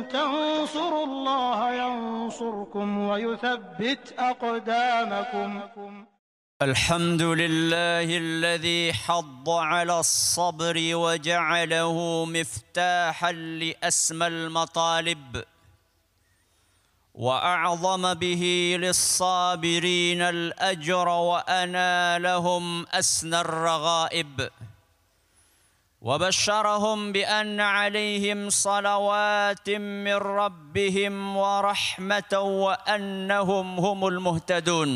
تنصروا الله ينصركم ويثبت أقدامكم. الحمد لله الذي حض على الصبر وجعله مفتاحا لأسمى المطالب وأعظم به للصابرين الأجر وأنالهم أسنى الرغائب وبشرهم بأن عليهم صلوات من ربهم ورحمة وأنهم هم المهتدون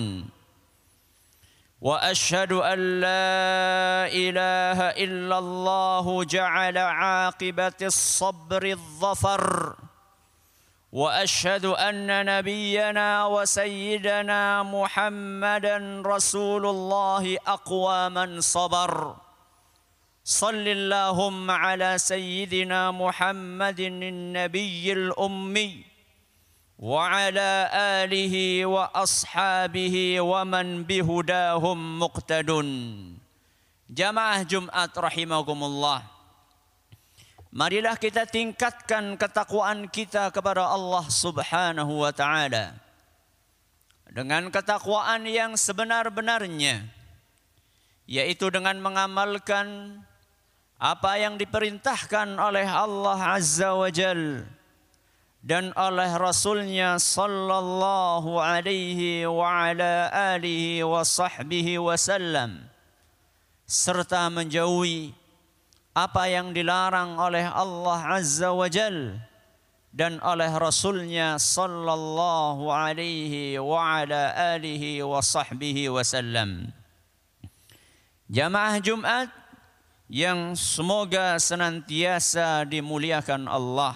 وأشهد أن لا إله إلا الله جعل عاقبة الصبر الظفر وأشهد أن نبينا وسيدنا محمدا رسول الله أقوى من صبر صل اللهم على سيدنا محمد النبي الأمي وعلى آله وأصحابه ومن بهداهم مقتدون. Jamaah Jumat rahimakumullah. Marilah kita tingkatkan ketakwaan kita kepada Allah Subhanahu wa taala dengan ketakwaan yang sebenar-benarnya, yaitu dengan mengamalkan apa yang diperintahkan oleh Allah Azza wa Jalla dan oleh Rasulnya sallallahu alaihi wa ala alihi wa sahbihi wasallam, serta menjauhi apa yang dilarang oleh Allah Azza wa Jal dan oleh Rasulnya sallallahu alaihi wa ala alihi wa sahbihi wasallam. Jamaah Jumat yang semoga senantiasa dimuliakan Allah,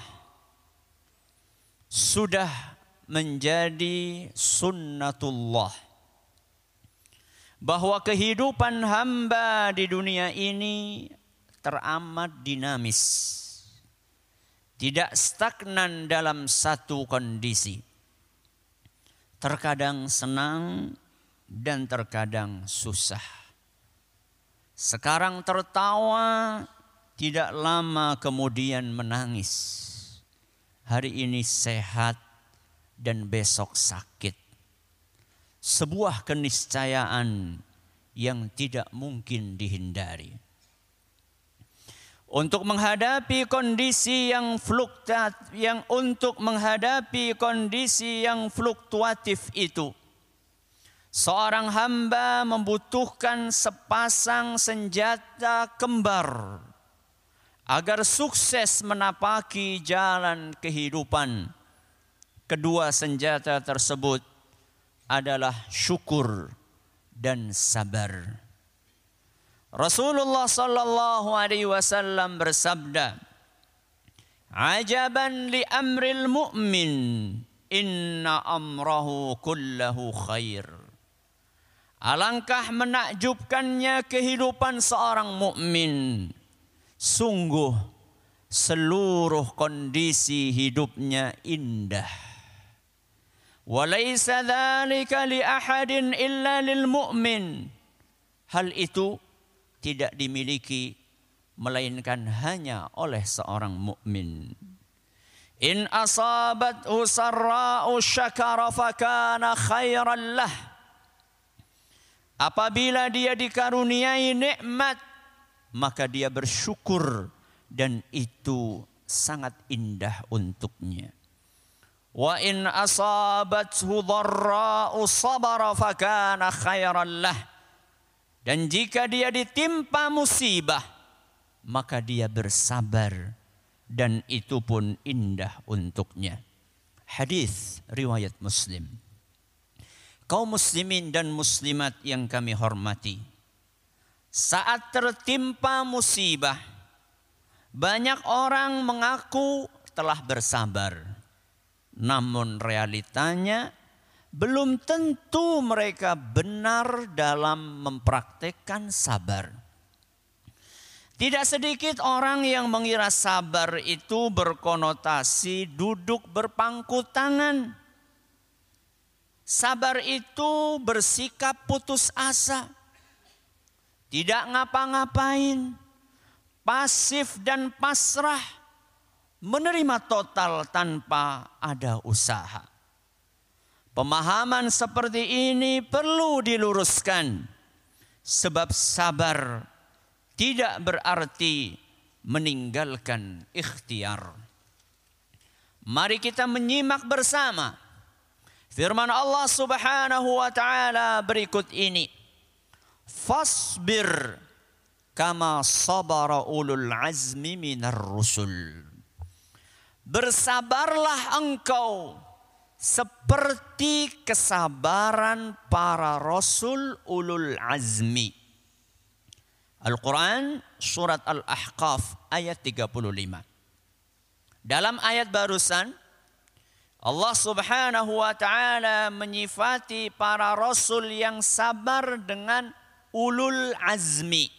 sudah menjadi sunnatullah bahwa kehidupan hamba di dunia ini teramat dinamis, tidak stagnan dalam satu kondisi, terkadang senang dan terkadang susah. Sekarang tertawa, tidak lama kemudian menangis. Hari ini sehat dan besok sakit. Sebuah keniscayaan yang tidak mungkin dihindari. Untuk menghadapi kondisi yang fluktuatif itu, seorang hamba membutuhkan sepasang senjata kembar agar sukses menapaki jalan kehidupan. Kedua senjata tersebut adalah syukur dan sabar. Rasulullah sallallahu alaihi wasallam bersabda, "Ajaban li amril mu'min, inna amrahu kullahu khair." Alangkah menakjubkannya kehidupan seorang mukmin. Sungguh seluruh kondisi hidupnya indah. Walaysa dzalika li ahadin illa lil mu'min. Hal itu tidak dimiliki melainkan hanya oleh seorang mukmin. In asabathu sarra'u syakara fakana khairan lah. Apabila dia dikaruniai nikmat, maka dia bersyukur dan itu sangat indah untuknya. Wa in asabathu dharra'u sabara fakana khairan lah. Dan jika dia ditimpa musibah, maka dia bersabar dan itu pun indah untuknya. Hadis riwayat Muslim. Kaum muslimin dan muslimat yang kami hormati, saat tertimpa musibah, banyak orang mengaku telah bersabar. Namun realitanya belum tentu mereka benar dalam mempraktekkan sabar. Tidak sedikit orang yang mengira sabar itu berkonotasi duduk berpangku tangan. Sabar itu bersikap putus asa, tidak ngapa-ngapain, pasif dan pasrah, menerima total tanpa ada usaha. Pemahaman seperti ini perlu diluruskan, sebab sabar tidak berarti meninggalkan ikhtiar. Mari kita menyimak bersama firman Allah Subhanahu wa taala berikut ini. Fasbir kama sabara ulul azmi minar rusul. Bersabarlah engkau seperti kesabaran para rasul ulul azmi. Al-Quran surat Al-Ahqaf ayat 35. Dalam ayat barusan Allah Subhanahu wa taala menyifati para rasul yang sabar dengan ulul azmi.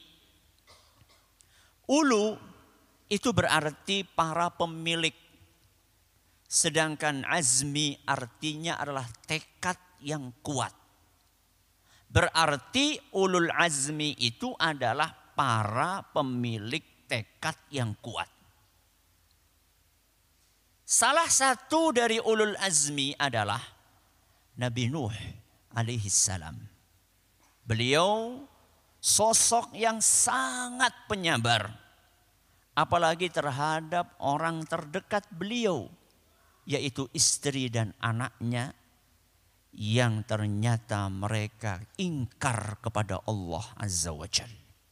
Ulu itu berarti para pemilik. Sedangkan azmi artinya adalah tekad yang kuat. Berarti ulul azmi itu adalah para pemilik tekad yang kuat. Salah satu dari ulul azmi adalah Nabi Nuh alaihi salam. Beliau sosok yang sangat penyabar. Apalagi terhadap orang terdekat beliau, yaitu istri dan anaknya yang ternyata mereka ingkar kepada Allah Azza wa Jalla.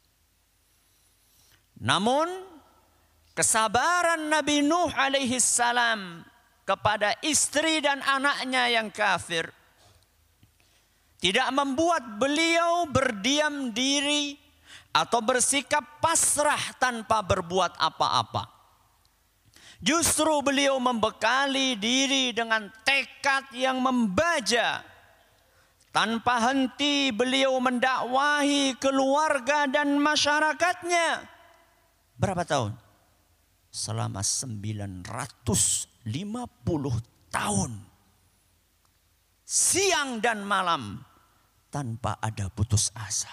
Namun kesabaran Nabi Nuh alaihi salam kepada istri dan anaknya yang kafir tidak membuat beliau berdiam diri atau bersikap pasrah tanpa berbuat apa-apa. Justru beliau membekali diri dengan tekad yang membaja. Tanpa henti beliau mendakwahi keluarga dan masyarakatnya. Berapa tahun? Selama 950 tahun. Siang dan malam tanpa ada putus asa.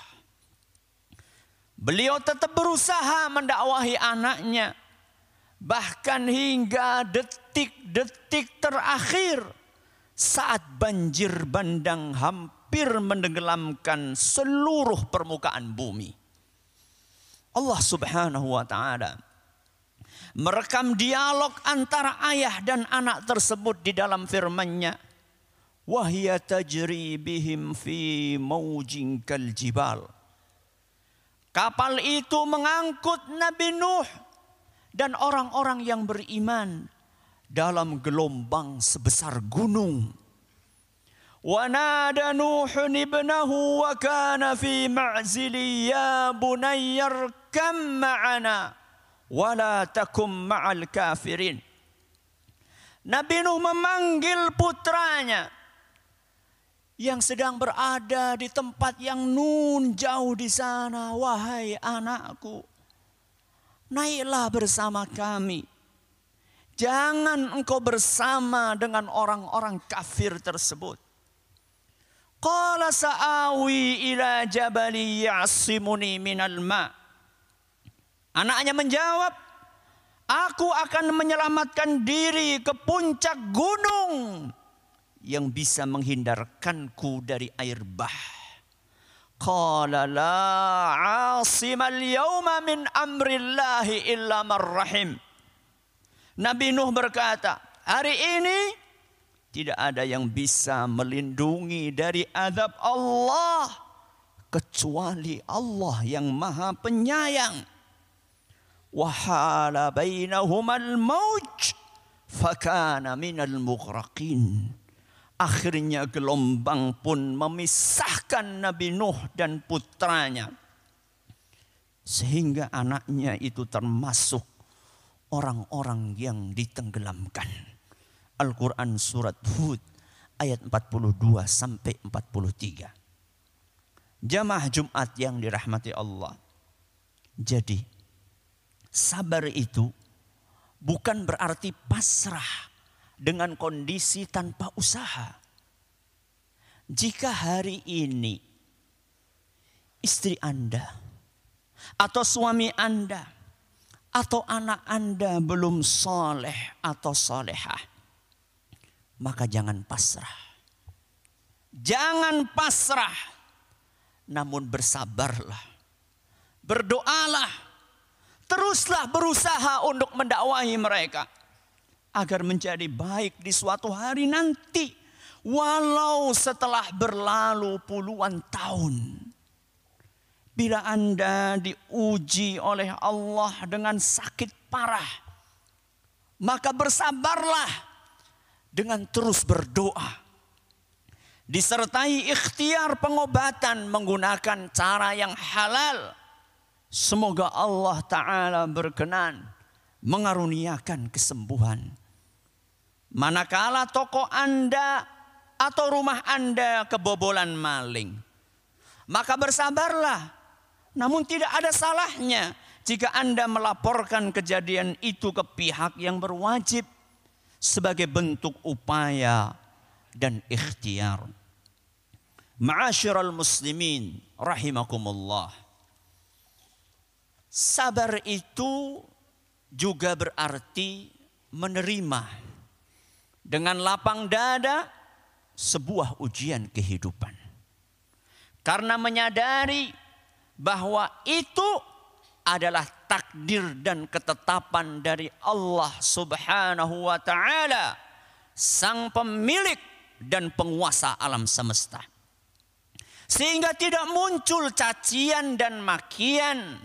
Beliau tetap berusaha mendakwahi anaknya. Bahkan hingga detik-detik terakhir saat banjir bandang hampir menenggelamkan seluruh permukaan bumi. Allah Subhanahu wa taala merekam dialog antara ayah dan anak tersebut di dalam firman-Nya. Wa hiya tajri bihim fi maujin kal jibal. Kapal itu mengangkut Nabi Nuh dan orang-orang yang beriman dalam gelombang sebesar gunung. Wa nada Nuhun ibnahu wa kana fi ma'zili ya bunayya arkam ma'ana wa la takum ma'al kafirin. Nabi Nuh memanggil putranya yang sedang berada di tempat yang nun jauh di sana. Wahai anakku, naiklah bersama kami. Jangan engkau bersama dengan orang-orang kafir tersebut. Qala sa'awi ila jabali ya'simuni minal ma'. Anaknya menjawab, aku akan menyelamatkan diri ke puncak gunung yang bisa menghindarkanku dari air bah. Qala la 'asimal yawma min amrillahi illa man rahim. Nabi Nuh berkata, hari ini tidak ada yang bisa melindungi dari azab Allah kecuali Allah yang Maha Penyayang. Wa hala bainahumal mauj fakana minal mughraqin. Akhirnya gelombang pun memisahkan Nabi Nuh dan putranya. Sehingga anaknya itu termasuk orang-orang yang ditenggelamkan. Al-Quran surat Hud ayat 42 sampai 43. Jamaah Jumat yang dirahmati Allah. Jadi sabar itu bukan berarti pasrah dengan kondisi tanpa usaha. Jika hari ini istri Anda atau suami Anda atau anak Anda belum soleh atau solehah, maka jangan pasrah. Jangan pasrah, namun bersabarlah, berdoalah, teruslah berusaha untuk mendakwahi mereka agar menjadi baik di suatu hari nanti, walau setelah berlalu puluhan tahun. Bila Anda diuji oleh Allah dengan sakit parah, maka bersabarlah dengan terus berdoa, disertai ikhtiar pengobatan menggunakan cara yang halal. Semoga Allah Ta'ala berkenan mengaruniakan kesembuhan. Manakala toko Anda atau rumah Anda kebobolan maling, maka bersabarlah. Namun tidak ada salahnya jika Anda melaporkan kejadian itu ke pihak yang berwajib sebagai bentuk upaya dan ikhtiar. Ma'asyiral muslimin rahimakumullah. Sabar itu juga berarti menerima dengan lapang dada sebuah ujian kehidupan. Karena menyadari bahwa itu adalah takdir dan ketetapan dari Allah Subhanahu wa Ta'ala, sang pemilik dan penguasa alam semesta. Sehingga tidak muncul cacian dan makian,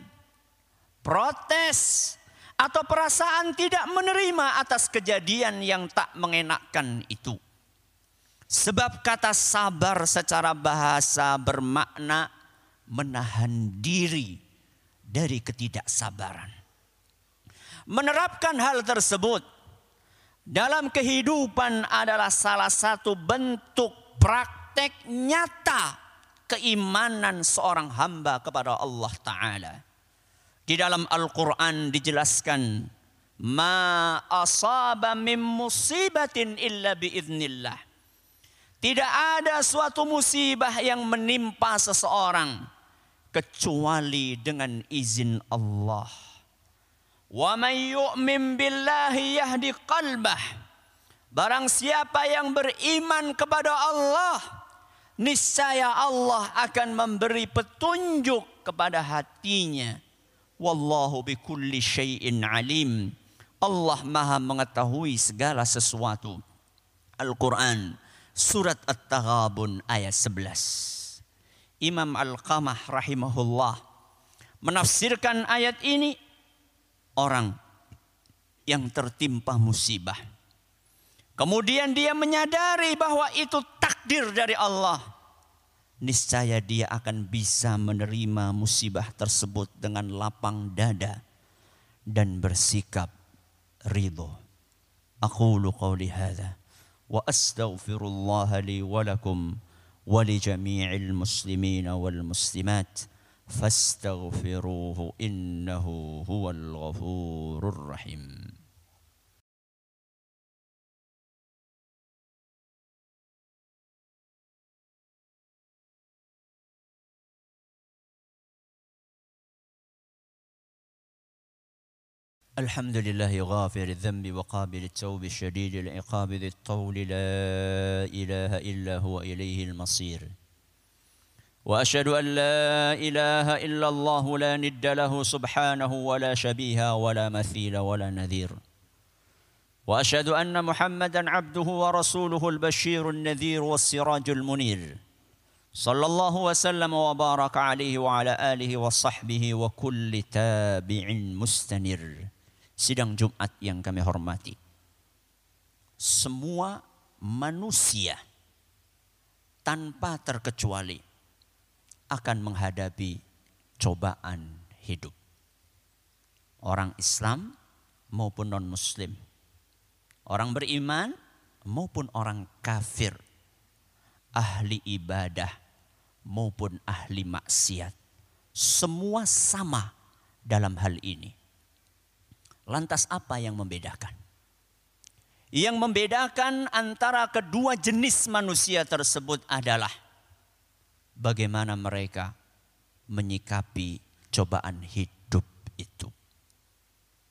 protes, atau perasaan tidak menerima atas kejadian yang tak mengenakkan itu. Sebab kata sabar secara bahasa bermakna menahan diri dari ketidaksabaran. Menerapkan hal tersebut dalam kehidupan adalah salah satu bentuk praktek nyata keimanan seorang hamba kepada Allah Ta'ala. Di dalam Al-Quran dijelaskan, ma asaba min musibatin illa biiznillah. Tidak ada suatu musibah yang menimpa seseorang kecuali dengan izin Allah. Wa may yu'min billahi yahdi qalbah. Barang siapa yang beriman kepada Allah, niscaya Allah akan memberi petunjuk kepada hatinya. Wallahu bikulli syai'in alim. Allah Maha mengetahui segala sesuatu. Al-Quran Surat At-Taghabun ayat 11. Imam Al-Qamah rahimahullah menafsirkan ayat ini, orang yang tertimpa musibah, kemudian dia menyadari bahwa itu takdir dari Allah, niscaya dia akan bisa menerima musibah tersebut dengan lapang dada dan bersikap ridho. Aqulu qawli hadza wa astaghfirullah li wa lakum wa li jami'il muslimina wal muslimat fastaghfiruhu innahu huwal ghafurur rahim. الحمد لله غافر الذنب وقابل التوب الشديد العقاب ذي الطول لا إله إلا هو إليه المصير وأشهد أن لا إله إلا الله لا ند له سبحانه ولا شبيه ولا مثيل ولا نذير وأشهد أن محمدا عبده ورسوله البشير النذير والسراج المنير صلى الله وسلم وبارك عليه وعلى آله وصحبه وكل تابع مستنير. Sidang Jumat yang kami hormati, semua manusia tanpa terkecuali akan menghadapi cobaan hidup. Orang Islam maupun non-Muslim, orang beriman maupun orang kafir, ahli ibadah maupun ahli maksiat, semua sama dalam hal ini. Lantas apa yang membedakan? Yang membedakan antara kedua jenis manusia tersebut adalah bagaimana mereka menyikapi cobaan hidup itu.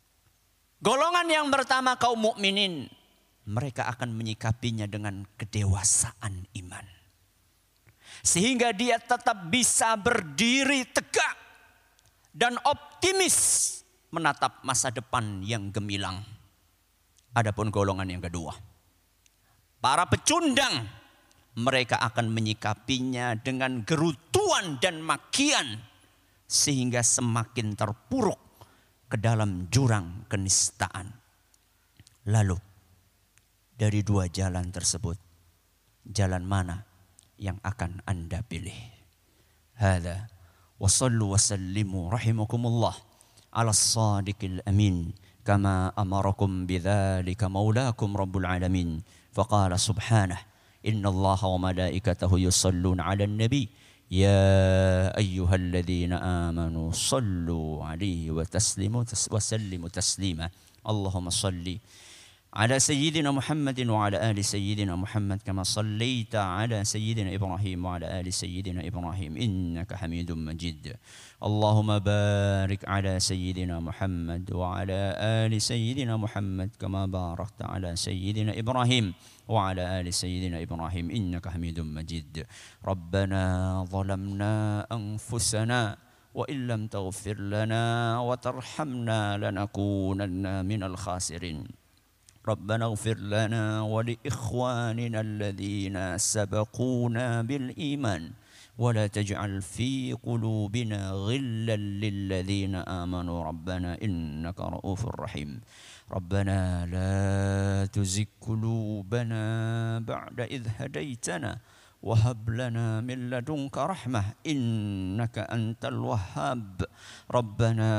Golongan yang pertama kaum mukminin, mereka akan menyikapinya dengan kedewasaan iman. Sehingga dia tetap bisa berdiri tegak dan optimis menatap masa depan yang gemilang. Adapun golongan yang kedua, para pecundang, mereka akan menyikapinya dengan gerutuan dan makian sehingga semakin terpuruk ke dalam jurang kenistaan. Lalu dari dua jalan tersebut, jalan mana yang akan Anda pilih? Hadza wa sallu wa sallimu rahimakumullah ala as-sadiqil amin kama amarakum bidzalika maulakum rabbul alamin. Faqala subhanahu innallaha wa malaikatahu yusalluna 'alan nabi ya ayyuhalladzina amanu sallu 'alaihi wa sallimu taslima. Allahumma salli على سيدنا محمد وعلى آل سيدنا محمد كما صليت على سيدنا إبراهيم وعلى آل سيدنا إبراهيم إنك حميد مجيد. اللهم بارك على سيدنا محمد وعلى آل سيدنا محمد كما باركت على سيدنا إبراهيم وعلى آل سيدنا إبراهيم إنك حميد مجيد. ربنا ظلمنا أنفسنا وإن لم تغفر لنا وترحمنا لنكونن من الخاسرين. ربنا اغفر لنا ولإخواننا الذين سبقونا بالإيمان ولا تجعل في قلوبنا غلا للذين آمنوا ربنا إنك رؤوف رحيم. ربنا لا تزغ قلوبنا بعد إذ هديتنا وهب لنا من لدنك رحمة إنك أنت الوهاب. ربنا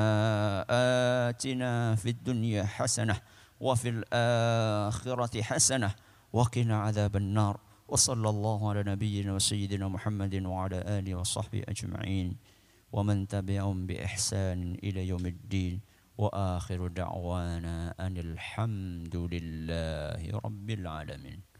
آتنا في الدنيا حسنة وفي الآخرة حسنة وقنا عذاب النار. وصلى الله على نبينا وسيدنا محمد وعلى آله وصحبه أجمعين ومن تبعهم بإحسان إلى يوم الدين وآخر دعوانا أن الحمد لله رب العالمين.